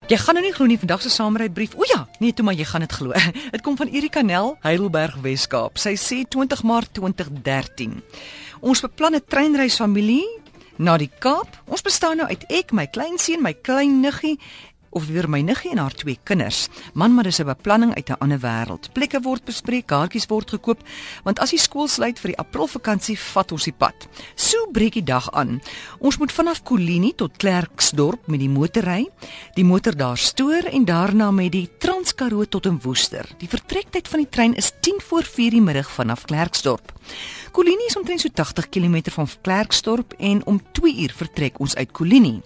Jy gaan nou nie glo nie, vandag se saamrybrief. O ja, nee toe maar jy gaan dit glo. Dit kom van Erika Nel, Heidelberg, Weskaap. Sy sê 20 Maart 2013. Ons beplan 'n treinreis familie na die Kaap. Ons bestaan nou uit ek, my kleinseun, my klein niggie, of weer my niggie en haar 2 kinders. Man, maar dis 'n beplanning uit 'n ander wêreld. Plekke word bespreek, kaartjies word gekoop, want as die skool sluit vir die Aprilvakansie, vat ons die pad. So breek die dag aan. Ons moet vanaf Kolini tot Klerksdorp met die motor ry, die motor daar stoor en daarna met die Transkaroo tot in Woester. Die vertrektyd van die trein is 10:04 die middag vanaf Klerksdorp. Kolini is omtrent so 80 km van Klerksdorp en om 2 uur vertrek ons uit Kolini.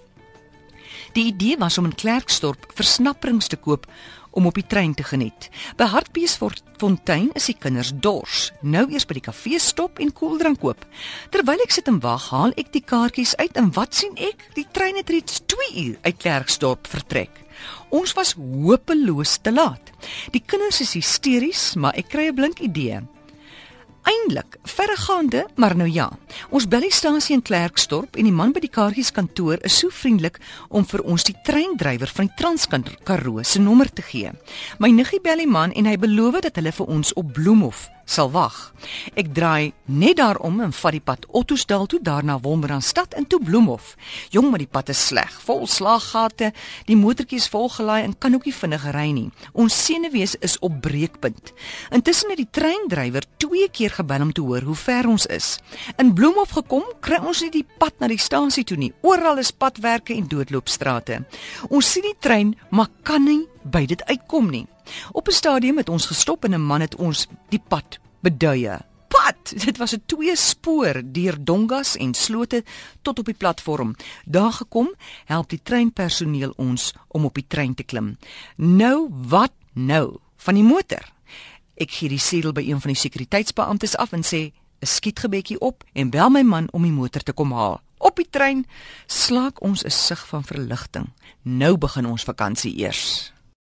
Die idee was om in Klerksdorp versnapperings te koop om op die trein te geniet. By Hartbeesfontein is die kinders dors. Nou eers by die kafee stop en koeldrank koop. Terwyl ek sit en wag, haal ek die kaartjies uit en wat sien ek? Die trein het reeds 2 uur uit Klerksdorp vertrek. Ons was hopeloos te laat. Die kinders is hysteries, maar ek kry 'n blink idee. Eindelik, verregaande, maar nou ja. Ons bel die stasie in Klerksdorp en die man by die kaartjieskantoor is so vriendelik om vir ons die treindrywer van die Transkaroo se nommer te gee. My niggie bel die man en hy beloof dat hulle vir ons op Bloemhof sal wag. Ek draai net daarom en vat die pad Ottosdal toe, daarna Wolmaranstad en toe Bloemhof. Jong, maar die pad is sleg, vol slaaggate, die motortjie is volgelaai en kan ook nie vinnig ry nie. Ons senuwees is op breekpunt. Intussen het die treindrywer 2 keer gebel om te hoor hoe ver ons is. In Bloemhof gekom, kry ons nie die pad na die stasie toe nie. Oral is padwerke en doodloopstrate. Ons sien die trein, maar kan nie by dit uitkom nie. Op 'n stadium het ons gestop en 'n man het ons die pad beduie. Pad! Dit was 'n 2-spoor deur dongas en slote tot op die platform. Daar gekom, help die treinpersoneel ons om op die trein te klim. Nou wat nou? Van die motor. Ek gee die sedel by een van die sekuriteitsbeamptes af en sê 'n skietgebedjie op en bel my man om die motor te kom haal. Op die trein slaak ons 'n sug van verligting. Nou begin ons vakansie eers.